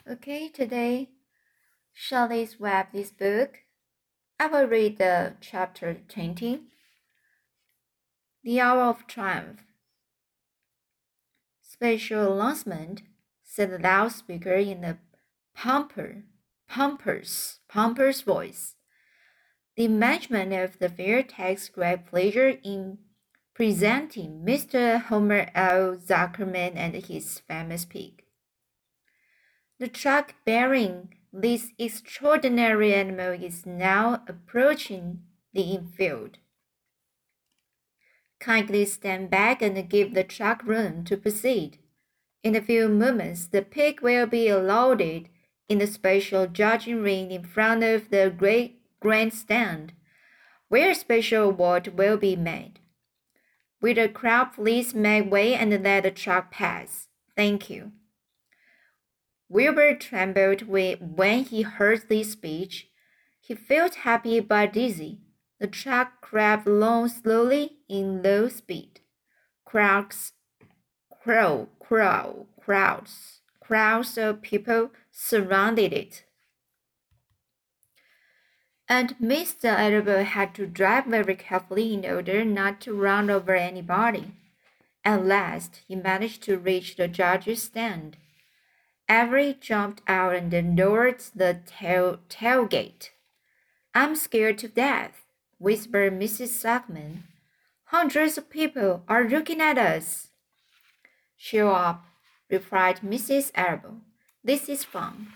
Okay, today Shelley's web this book. I will read the chapter 20, The Hour of Triumph. Special announcement, said the loudspeaker in a pompous voice. The management of the fair takes great pleasure in presenting Mr. Homer L. Zuckerman and his famous pig. The truck bearing this extraordinary animal is now approaching the infield. Kindly stand back and give the truck room to proceed. In a few moments, the pig will be loaded in the special judging ring in front of the great grandstand, where a special award will be made. Will the crowd please make way and let the truck pass? Thank you. Wilbur trembled when he heard this speech. He felt happy but dizzy. The truck crept along slowly in low speed. Crowds of people surrounded it. And Mr. Arable had to drive very carefully in order not to run over anybody. At last, he managed to reach the judge's stand. Avery jumped out and lowered the tailgate. I'm scared to death, whispered Mrs. Zuckman. Hundreds of people are looking at us. Cheer up, replied Mrs. Arable. This is fun.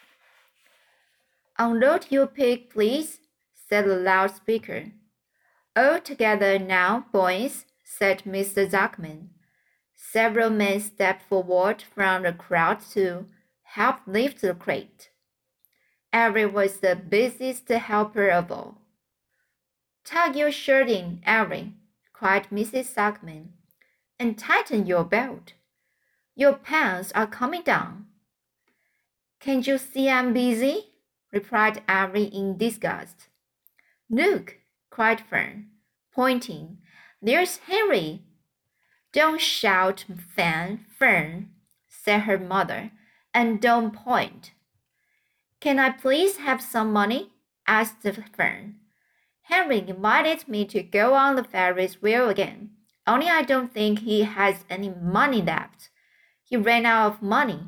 Unload your pig, please, said the loudspeaker. All together now, boys, said Mr. Zuckman. Several men stepped forward from the crowd to help lift the crate. Avery was the busiest helper of all. Tuck your shirt in, Avery, cried Mrs. Zuckman, and tighten your belt. Your pants are coming down. Can't you see I'm busy? Replied Avery in disgust. Look, cried Fern, pointing. There's Henry. Don't shout, Fern, said her mother, and don't point. Can I please have some money? Asked Fern. Henry invited me to go on the Ferris wheel again, only I don't think he has any money left. He ran out of money.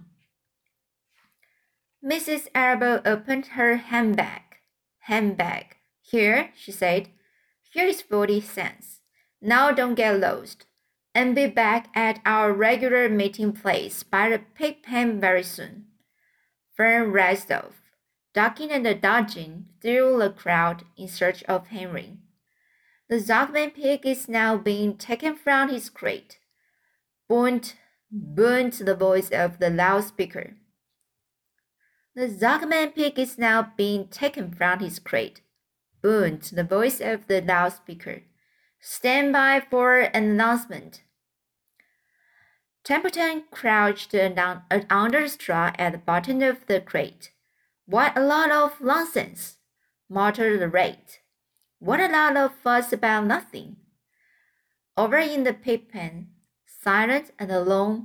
Mrs. Arable opened her handbag. Here, she said. Here is 40 cents. Now don't get lost, and be back at our regular meeting place by the pig pen very soon. Fern raced off, ducking and dodging through the crowd in search of Henry. The Zuckman pig is now being taken from his crate. Boomed the voice of the loudspeaker. The Zuckman pig is now being taken from his crate. Boomed the voice of the loudspeaker. Stand by for an announcement. Templeton crouched under the straw at the bottom of the crate. What a lot of nonsense, muttered the rat. What a lot of fuss about nothing. Over in the pig pen, silent and alone,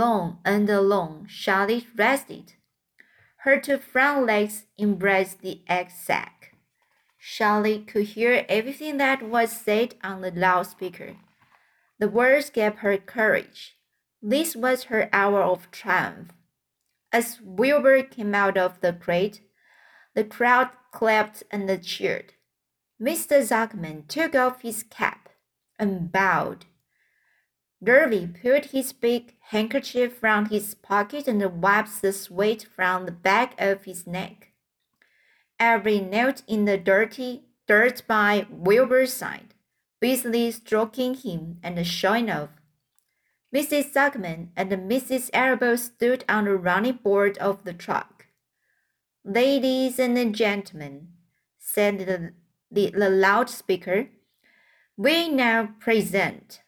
Charlotte rested. Her two front legs embraced the egg sack. Charlotte could hear everything that was said on the loudspeaker. The words gave her courage. This was her hour of triumph. As Wilbur came out of the crate, the crowd clapped and cheered. Mr. Zuckman took off his cap and bowed. Davy pulled his big handkerchief from his pocket and wiped the sweat from the back of his neck. Avery knelt in the dirt by Wilbur's side, busily stroking him and showing off. Mrs. Zuckman and Mrs. Arable stood on the running board of the truck. Ladies and gentlemen, said the loudspeaker, we now present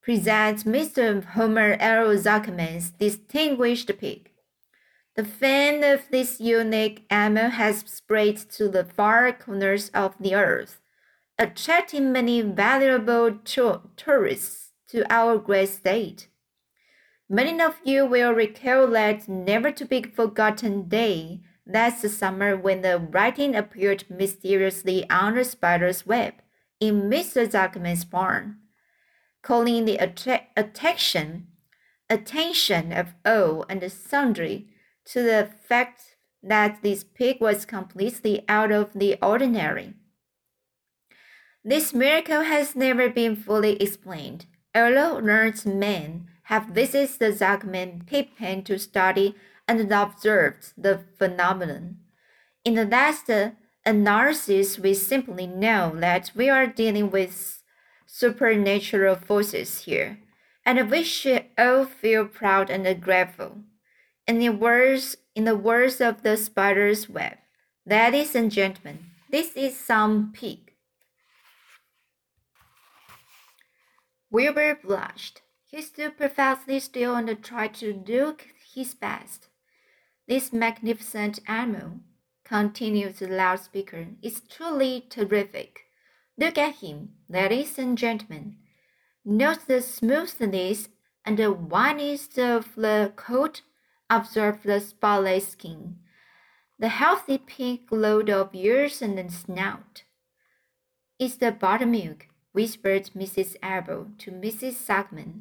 Mr. Homer L. Zuckerman's distinguished pig. The fame of this unique animal has spread to the far corners of the earth, attracting many valuable tourists to our great state. Many of you will recall that never-to-be-forgotten day last summer when the writing appeared mysteriously on the spider's web in Mr. Zuckerman's barn, calling the attention of all and sundry to the fact that this pig was completely out of the ordinary. This miracle has never been fully explained, although learned men have visited the Zuckerman pig pen to study and observed the phenomenon. In the last analysis, we simply know that we are dealing with supernatural forces here, and we should all feel proud and grateful. In the words of the spider's web, ladies and gentlemen, this is some pig. Wilbur blushed. He stood perfectly still and tried to do his best. This magnificent animal, continued the loudspeaker, is truly terrific. Look at him, ladies and gentlemen. Note the smoothness and the whiteness of the coat. Observe the spotless skin, the healthy pink glow of ears and snout. It's the buttermilk, whispered Mrs. Abel to Mrs. Zuckerman.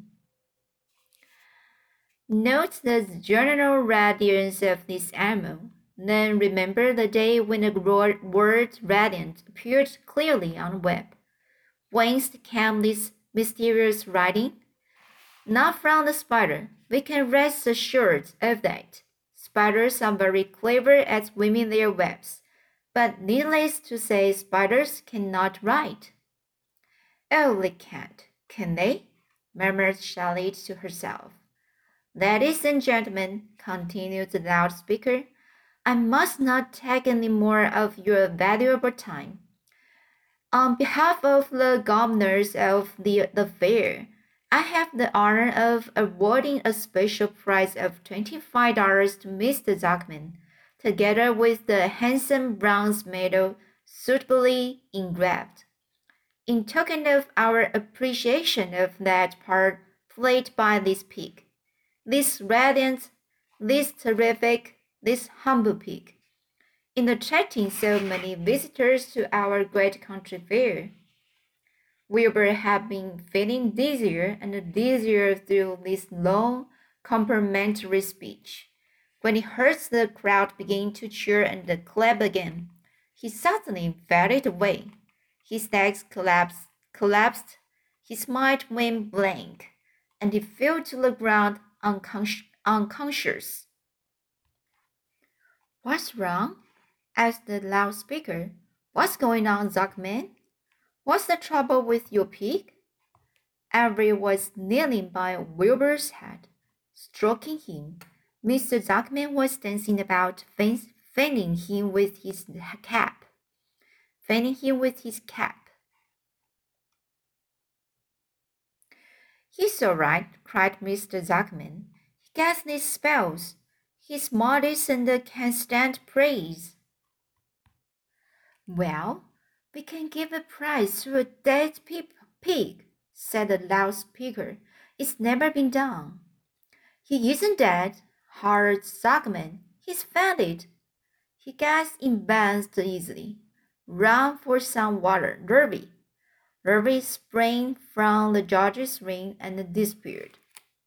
Note the general radiance of this animal. Then remember the day when the word radiant appeared clearly on the web. Whence came this mysterious writing? Not from the spider. We can rest assured of that. Spiders are very clever at weaving their webs, but needless to say, spiders cannot write. Oh, they can't, can they? Murmured Charlotte to herself. Ladies and gentlemen, continued the loudspeaker, I must not take any more of your valuable time. On behalf of the governors of the fair, I have the honor of awarding a special prize of $25 to Mr. Zuckerman, together with the handsome bronze medal suitably engraved, in token of our appreciation of that part played by this pig, this radiant, this terrific, this humble pig, in attracting so many visitors to our great country fair. Wilbur had been feeling dizzier and dizzier through this long, complimentary speech. When he heard the crowd begin to cheer and clap again, he suddenly faded away. His legs collapsed, his mind went blank, and he fell to the ground unconscious. What's wrong? Asked the loudspeaker. What's going on, Zuckerman? What's the trouble with your pig? Avery was kneeling by Wilbur's head, stroking him. Mr. Zuckerman was dancing about, fanning him with his cap. He's all right, cried Mr. Zuckerman. He gets these spells. He's modest and can stand praise. Well, we can give a prize to a dead pig, said the loudspeaker. It's never been done. He isn't dead, hollered Zuckerman. He's fainted. He gets embarrassed easily. Run for some water, Derby. Derby sprang from the judge's ring and disappeared.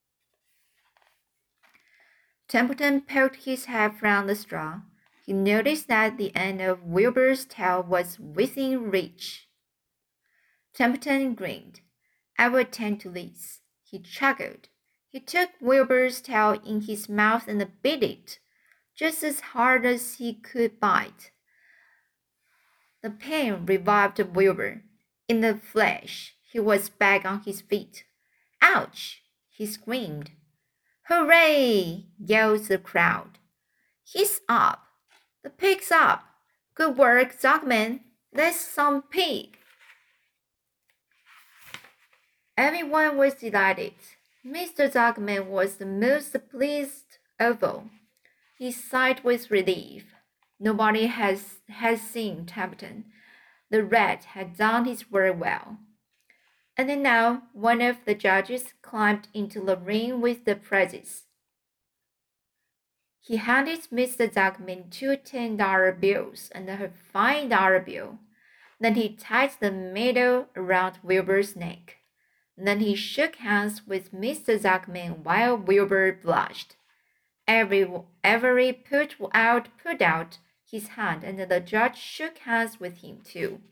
Templeton poked his head from the straw. He noticed that the end of Wilbur's tail was within reach. Templeton grinned. I will tend to this, he chuckled. He took Wilbur's tail in his mouth and bit it, just as hard as he could bite. The pain revived Wilbur. In a flash, he was back on his feet. Ouch! He screamed. Hooray! Yelled the crowd. He's up. The pig's up. Good work, Zuckerman. That's some pig. Everyone was delighted. Mr. Zuckerman was the most pleased of all. He sighed with relief. Nobody had seen Templeton. The rat had done his work well. And now one of the judges climbed into the ring with the prizes. He handed Mr. Zuckman two $10 bills and a $5 bill. Then he tied the medal around Wilbur's neck. Then he shook hands with Mr. Zuckman while Wilbur blushed. Avery put out his hand, and the judge shook hands with him too.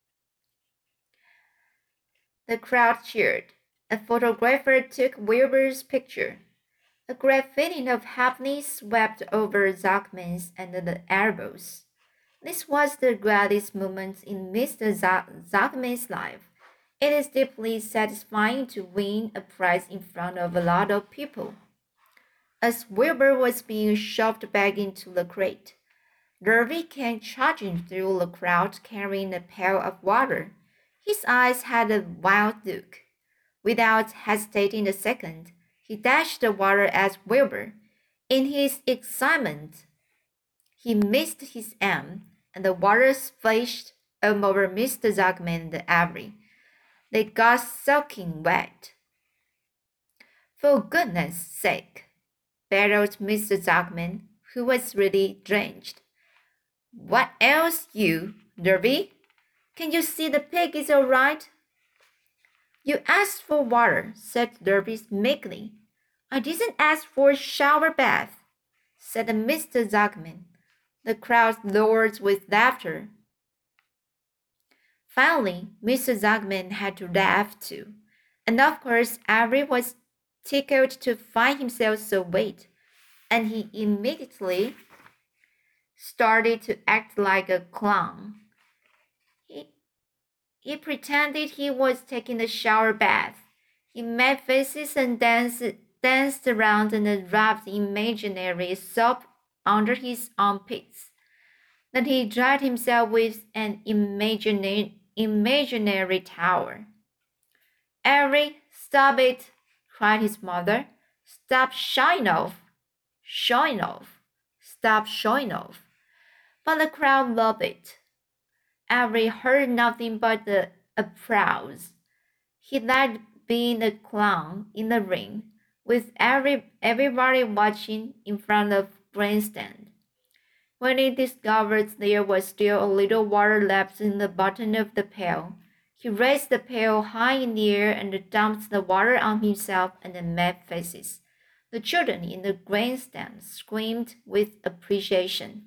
The crowd cheered. A photographer took Wilbur's picture. A great feeling of happiness swept over Zuckman's and the elbows. This was the greatest moment in Mr. Zuckman's life. It is deeply satisfying to win a prize in front of a lot of people. As Wilbur was being shoved back into the crate, Derby came charging through the crowd carrying a pail of water. His eyes had a wild look. Without hesitating a second, he dashed the water at Wilbur. In his excitement, he missed his aim, and the water splashed over Mr. Zuckman and Avery. They got soaking wet. For goodness sake, bellowed Mr. Zuckman, who was really drenched. What ails you, Derby? Can you see the pig is all right? You asked for water, said Derby meekly. I didn't ask for a shower bath, said Mr. Zuckman. The crowd roared with laughter. Finally, Mr. Zuckman had to laugh too, and of course Avery was tickled to find himself so wet, and he immediately started to act like a clown. He pretended he was taking a shower bath. He made faces and danced around and rubbed imaginary soap under his armpits. Then he dried himself with an imaginary towel. Avery, stop it, cried his mother. Stop showing off. Stop showing off. But the crowd loved it. Avery heard nothing but the applause. He liked being a clown in the ring, with everybody watching in front of the grandstand. When he discovered there was still a little water left in the bottom of the pail, he raised the pail high in the air and dumped the water on himself and made faces. The children in the grandstand screamed with appreciation.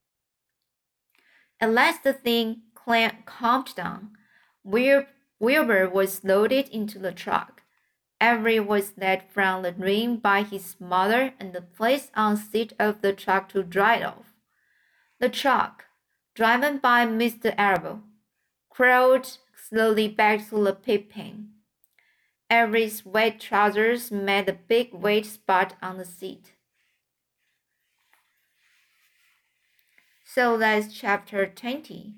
At last the thing calmed down. Wilbur was loaded into the truck. Avery was led from the ring by his mother and placed on the seat of the truck to dry off. The truck, driven by Mr. Arable, crawled slowly back to the pig pen. Avery's wet trousers made a big wet spot on the seat. So that's chapter 20.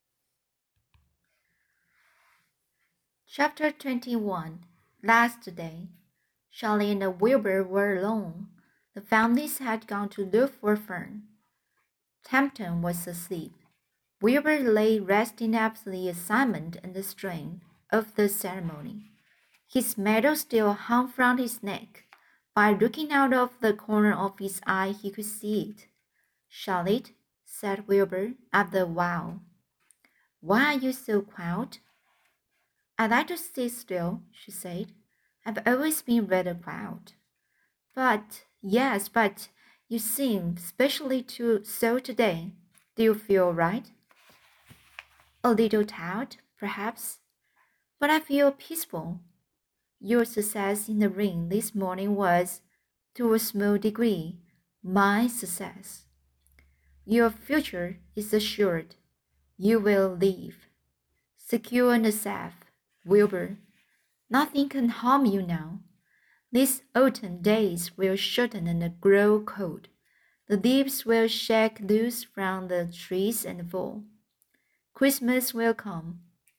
Chapter 21. Last day. Charlie and Wilbur were alone. The families had gone to look for Fern. Tempton was asleep. Wilbur lay resting after the assignment and the strain of the ceremony. His medal still hung from his neck. By looking out of the corner of his eye, he could see it. Charlotte, said Wilbur after a while, why are you so quiet? I like to sit still, she said. I've always been rather quiet. But you seem especially so today. Do you feel all right? A little tired, perhaps, but I feel peaceful. Your success in the ring this morning was, to a small degree, my success. Your future is assured. You will live. Secure and safe, Wilbur. Nothing can harm you now. These autumn days will shorten and grow cold. The leaves will shake loose from the trees and fall. Christmas will come.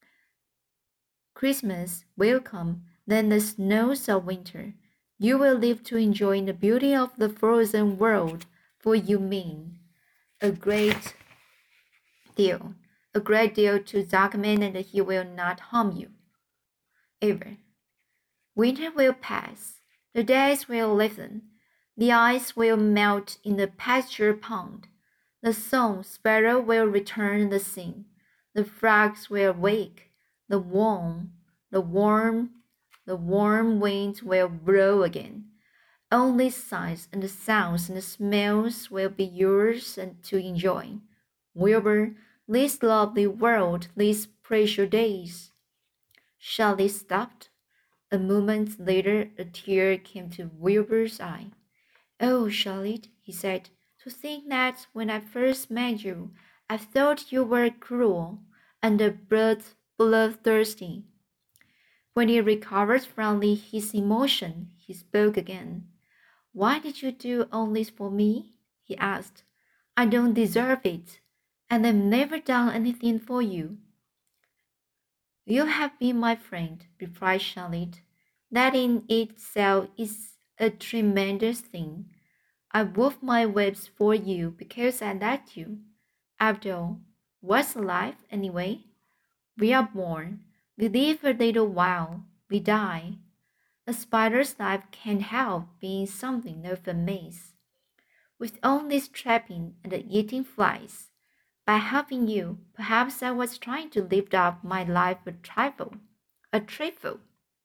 Then the snows of winter. You will live to enjoy the beauty of the frozen world, for you mean a great deal to Zuckman, and he will not harm you. ever. Winter will pass, the days will lengthen, the ice will melt in the pasture pond, the song sparrow will return the sing, the frogs will wake, the warm winds will blow again. All these sights and the sounds and the smells will be yours and to enjoy. Wilbur, this lovely world, these precious days. Shelley stopped. A moment later, a tear came to Wilbur's eye. Oh, Charlotte, he said, to think that when I first met you, I thought you were cruel and bloodthirsty. When he recovered from his emotion, he spoke again. Why did you do all this for me? He asked. I don't deserve it, and I've never done anything for you. You have been my friend, replied Charlotte. That in itself is a tremendous thing. I wove my webs for you because I liked you. After all, what's life anyway? We are born, we live a little while, we die. A spider's life can't help being something of a maze. With all this trapping and eating flies, by helping you, perhaps I was trying to lift up my life a trifle. A trifle.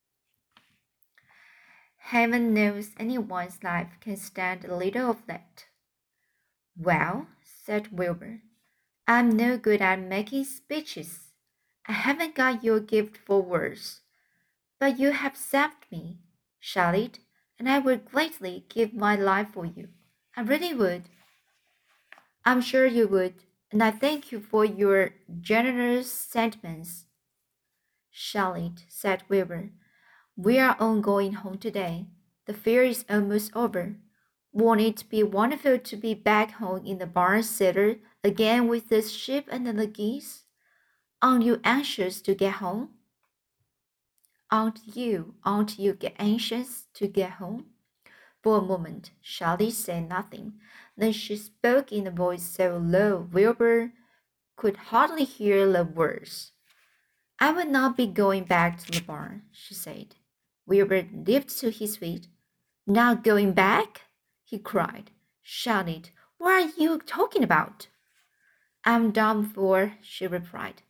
Heaven knows anyone's life can stand a little of that. Well, said Wilbur, I'm no good at making speeches. I haven't got your gift for words. But you have saved me, Charlotte, and I would gladly give my life for you. I really would. I'm sure you would, and I thank you for your generous sentiments. Charlotte, said Wilbur, we are all going home today. The fair is almost over. Won't it be wonderful to be back home in the barn cellar again with the sheep and the geese? Aren't you anxious to get home? Aren't you get anxious to get home? For a moment, Charlotte said nothing. Then she spoke in a voice so low Wilbur could hardly hear the words. I will not be going back to the barn, she said. Wilbur leaped to his feet. Not going back? He cried. Charlotte, what are you talking about? I'm done for, she replied.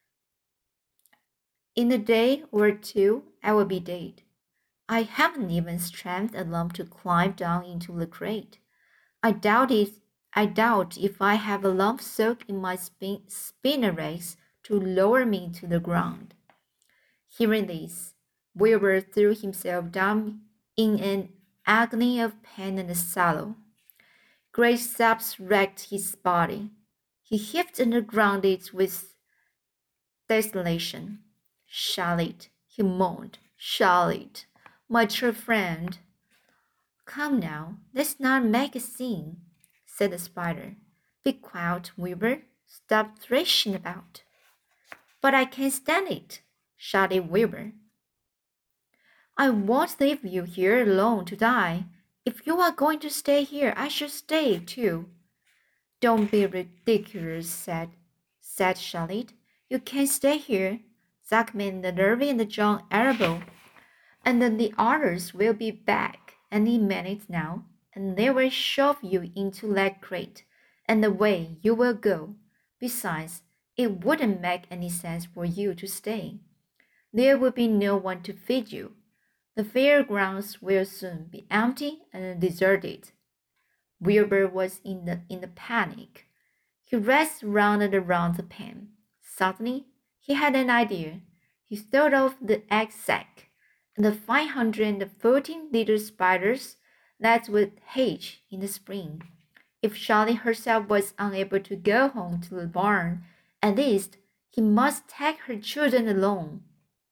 In a day or two, I will be dead. I haven't even strength enough to climb down into the crate. I doubt if I have a lump soak in my spinnerets to lower me to the ground. Hearing this, Wilbur threw himself down in an agony of pain and sorrow. Great sobs racked his body. He heaved and grounded with desolation. Charlotte, he moaned, Charlotte, my true friend. Come now, let's not make a scene, said the spider. Be quiet, Wilbur. Stop thrashing about. But I can't stand it, shouted Wilbur. I won't leave you here alone to die. If you are going to stay here, I shall stay too. Don't be ridiculous, said Charlotte. You can't stay here. Zuckman, the Nervy, and John Arable, and then the others will be back any minute now, and they will shove you into that crate, and away you will go. Besides, it wouldn't make any sense for you to stay. There will be no one to feed you. The fairgrounds will soon be empty and deserted. Wilbur was in the panic. He raced round and around the pen. Suddenly, he had an idea. He thought of the egg sack and the 514 little spiders that would hatch in the spring. If Charlotte herself was unable to go home to the barn, at least he must take her children along.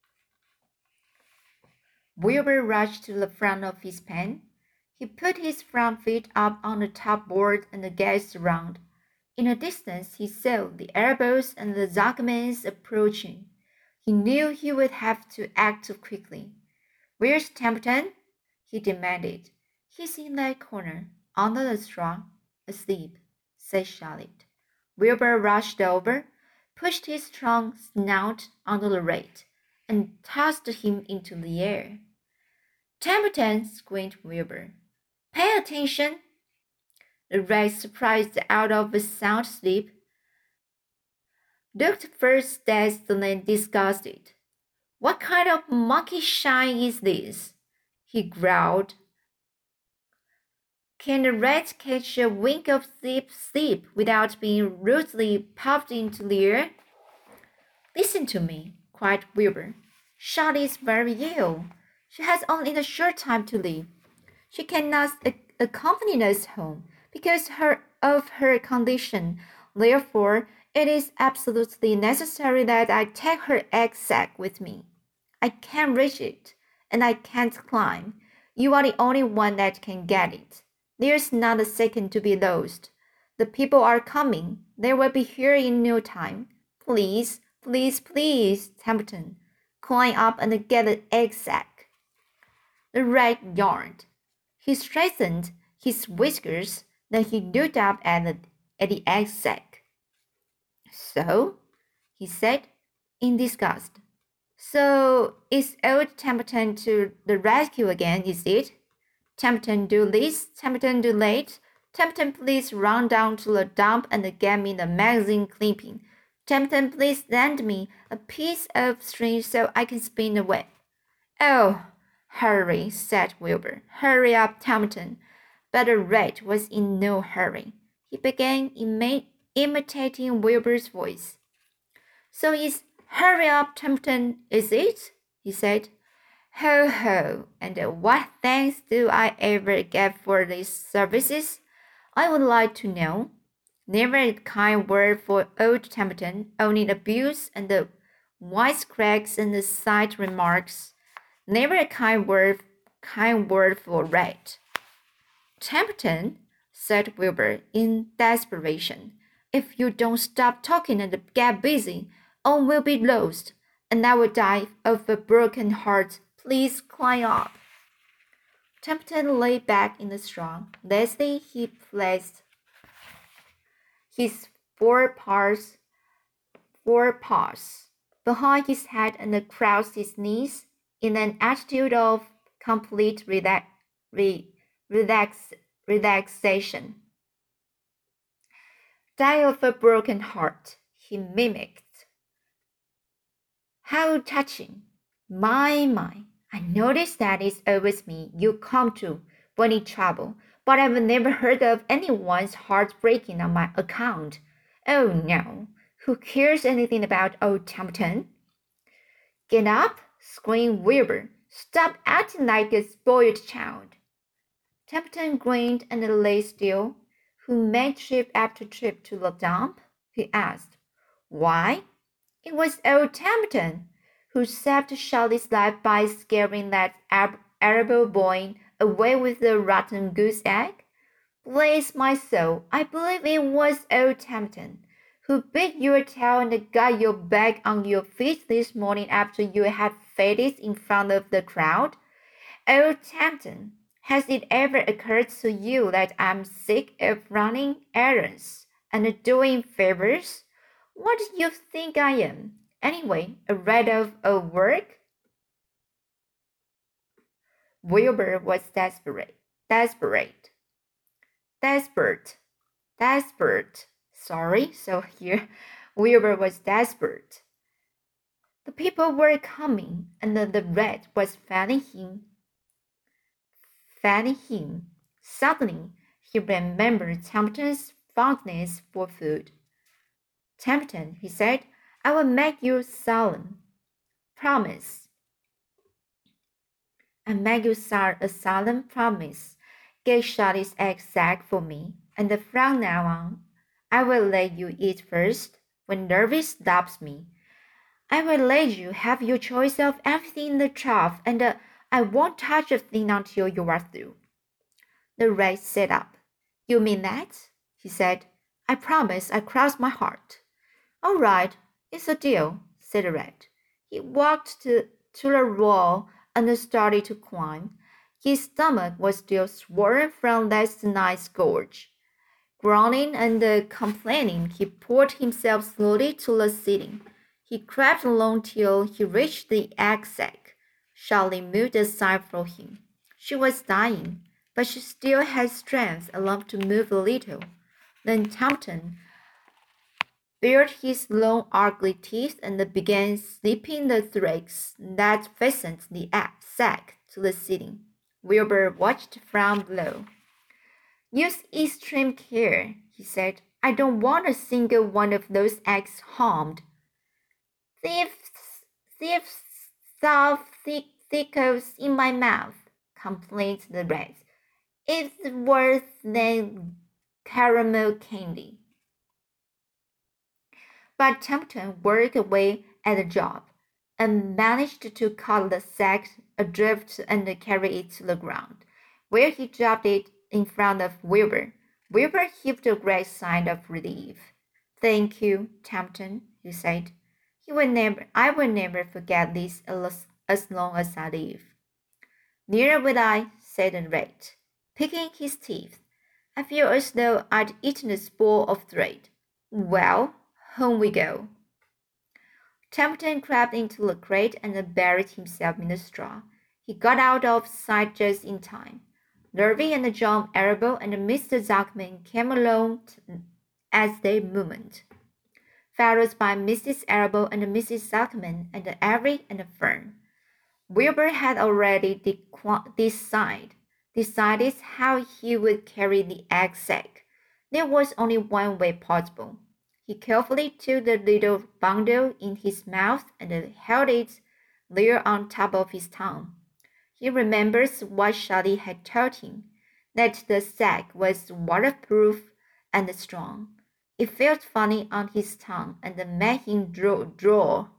Wilbur rushed to the front of his pen. He put his front feet up on the top board and gazed around. In the distance, he saw the Arables and the Zuckmans approaching. He knew he would have to act quickly. Where's Templeton? He demanded. He's in that corner, under the straw, asleep, said Charlotte. Wilbur rushed over, pushed his strong snout under the rate, and tossed him into the air. Templeton, screamed Wilbur. Pay attention! The rat, surprised out of a sound sleep, looked first dazed then disgusted. What kind of monkey shine is this? He growled. Can a rat catch a wink of sleep without being rudely puffed into the air? Listen to me, cried Wilbur. Charlie is very ill. She has only a short time to live. She cannot accompany us home because of her condition. Therefore, it is absolutely necessary that I take her egg sack with me. I can't reach it, and I can't climb. You are the only one that can get it. There's not a second to be lost. The people are coming. They will be here in no time. Please, please, please, Templeton, climb up and get the egg sack. The rat yawned. He straightened his whiskers, then he looked up at the egg sack. So, he said, in disgust. So, it's old Templeton to the rescue again, is it? Templeton do this, Templeton do that. Templeton, please run down to the dump and get me the magazine clipping. Templeton, please lend me a piece of string so I can spin the web. Oh, hurry, said Wilbur. Hurry up, Templeton. But the rat was in no hurry. He began imitating Wilbur's voice. So it's hurry up, Templeton, is it? He said. Ho, ho, and what thanks do I ever get for these services? I would like to know. Never a kind word for old Templeton, only abuse and the wisecracks and the side remarks. Never a kind word for rat. Templeton, said Wilbur in desperation, if you don't stop talking and get busy, all will be lost, and I will die of a broken heart. Please climb up. Templeton lay back in the straw. Lastly, he placed his four paws behind his head and crossed his knees in an attitude of complete relaxation. Die of a broken heart, he mimicked. How touching! My, I notice that it's always me you come to when in trouble, but I've never heard of anyone's heart breaking on my account. Oh no, who cares anything about old Templeton? Get up, screamed Wilbur. Stop acting like a spoiled child. Templeton grinned and lay still. Who made trip after trip to the dump? He asked. Why? It was old Templeton, who saved Charlie's life by scaring that Arable boy away with the rotten goose egg. Bless my soul, I believe it was old Templeton, who bit your tail and got you back on your feet this morning after you had fainted in front of the crowd. Old Templeton, has it ever occurred to you that I'm sick of running errands and doing favors? What do you think I am? Anyway, a rat of a work? Wilbur was desperate. Sorry, so here, Wilbur was desperate. The people were coming, and the rat was fanning him. Suddenly, he remembered Templeton's fondness for food. Templeton, he said, I will make you a solemn promise. I make you a solemn promise. Get Charlie's egg sack for me, and from now on, I will let you eat first when nervous stops me. I will let you have your choice of everything in the trough, and I won't touch a thing until you are through. The rat sat up. You mean that? He said. I promise. I cross my heart. All right, it's a deal, said the rat. He walked to the wall and started to climb. His stomach was still swollen from last night's gorge. Groaning and complaining, he pulled himself slowly to the ceiling. He crept along till he reached the egg sac. Charlie moved aside for him. She was dying, but she still had strength enough to move a little. Then Tempton bared his long ugly teeth and began snipping the threads that fastened the egg sac to the ceiling. Wilbur watched from below. Use extreme care, he said. I don't want a single one of those eggs harmed. Thieves stuff thickles in my mouth, complained the rat. It's worse than caramel candy. But Tempton worked away at the job and managed to cut the sack adrift and carry it to the ground, where he dropped it in front of Wilbur. Wilbur heaved a great sigh of relief. Thank you, Tempton, he said. I will never forget this as long as I live. Neither will I, said the rat, picking his teeth. I feel as though I'd eaten a spool of thread. Well, home we go. Tempton crept into the crate and buried himself in the straw. He got out of sight just in time. Nervy and John Arable and Mr. Zuckman came along as they moved, followed by Mrs. Arable and Mrs. Zuckman and Avery and Fern. Wilbur had already decided how he would carry the egg sac. There was only one way possible. He carefully took the little bundle in his mouth and held it there on top of his tongue. He remembers what Charlie had told him, that the sack was waterproof and strong. It felt funny on his tongue and made him draw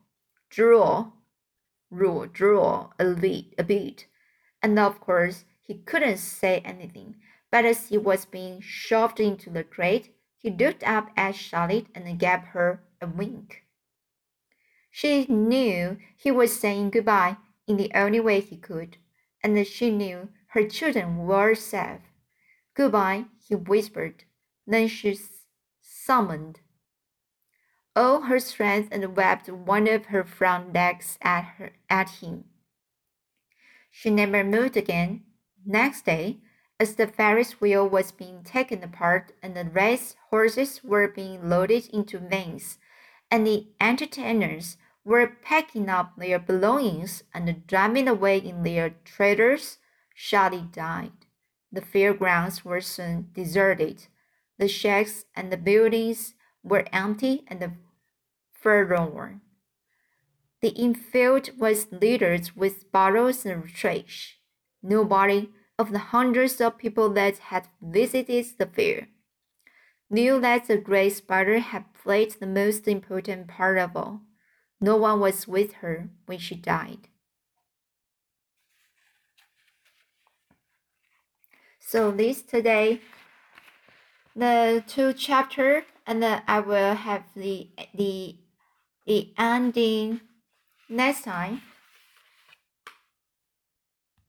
a bit. And of course, he couldn't say anything, but as he was being shoved into the crate, he looked up at Charlotte and gave her a wink. She knew he was saying goodbye in the only way he could, and she knew her children were safe. Goodbye, he whispered. Then she summoned all her strength and waved one of her front legs at him. She never moved again. Next day, as the Ferris wheel was being taken apart and the race horses were being loaded into vans, and the entertainers were packing up their belongings and driving away in their trailers, Charlie died. The fairgrounds were soon deserted. The shacks and the buildings were empty and forlorn. The infield was littered with bottles and trash. Nobody of the hundreds of people that had visited the fair knew that the great spider had played the most important part of all. No one was with her when she died. So this today, the 2 chapter, and then I will have the ending next time.